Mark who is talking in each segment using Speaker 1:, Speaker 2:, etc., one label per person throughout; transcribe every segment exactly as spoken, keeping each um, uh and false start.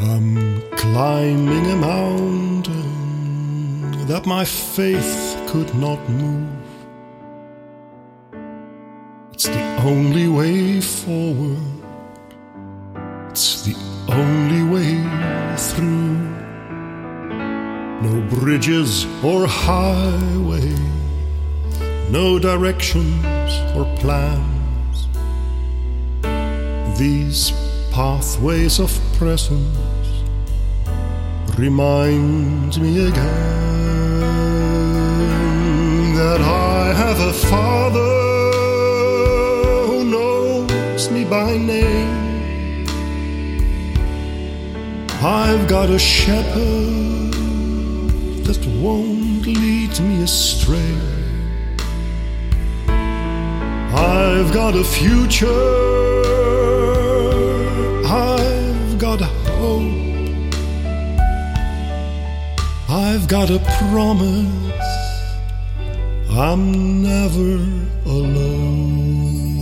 Speaker 1: I'm climbing a mountain that my faith could not move. It's the only way forward, it's the only way through. No bridges or highway, no directions or plans. These pathways of presence remind me again that I have a Father who knows me by name. I've got a shepherd that won't lead me astray. I've got a future, I've got a hope, I've got a promise, I'm never alone.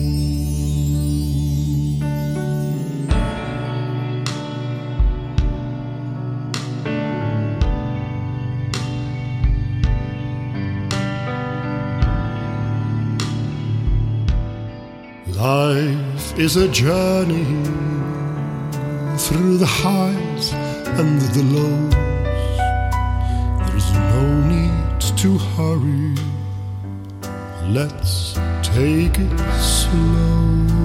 Speaker 1: Life is a journey through the highs and the lows. There's no need to hurry, let's take it slow.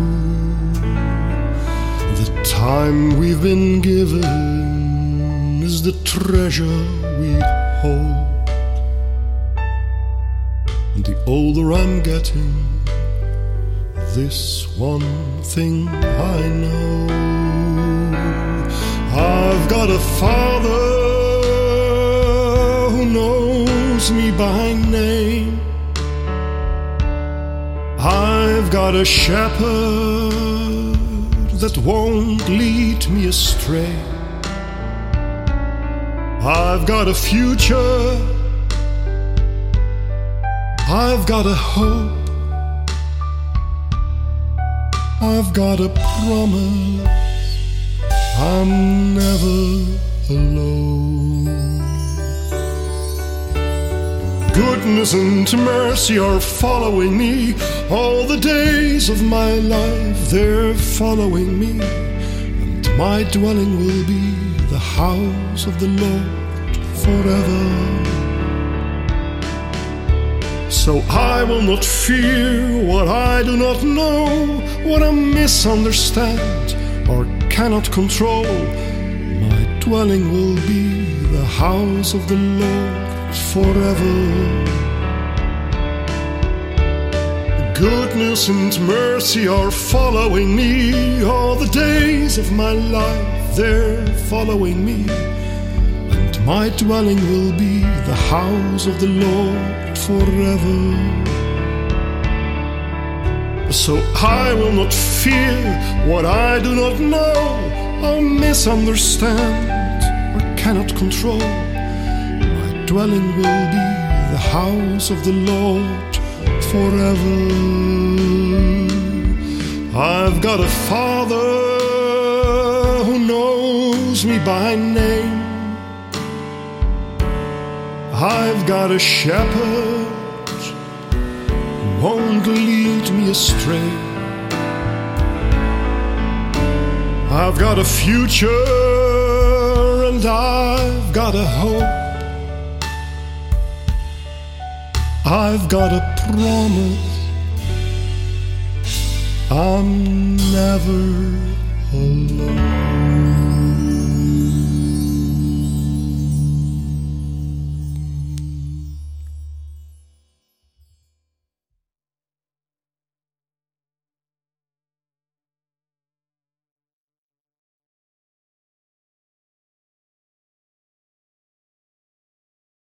Speaker 1: The time we've been given is the treasure we hold. And the older I'm getting, this one thing I know, I've got a Father who knows me by name. I've got a shepherd that won't lead me astray. I've got a future, I've got a hope, I've got a promise, I'm never alone. Goodness and mercy are following me all the days of my life. They're following me, and my dwelling will be the house of the Lord forever. So I will not fear what I do not know, what I misunderstand or cannot control. My dwelling will be the house of the Lord forever. Goodness and mercy are following me all the days of my life. They're following me, and my dwelling will be the house of the Lord forever. So I will not fear what I do not know or misunderstand or cannot control. My dwelling will be the house of the Lord forever. I've got a Father who knows me by name. I've got a shepherd who won't lead me astray. I've got a future and I've got a hope. I've got a promise, I'm never alone.